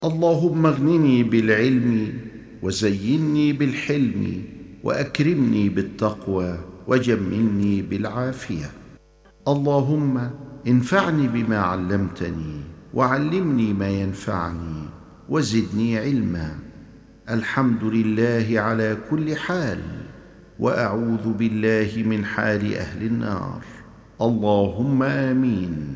اللهم اغنني بالعلم وزينني بالحلم وأكرمني بالتقوى وجملني بالعافية. اللهم انفعني بما علمتني وعلمني ما ينفعني وزدني علما. الحمد لله على كل حال، وأعوذ بالله من حال أهل النار. اللهم آمين.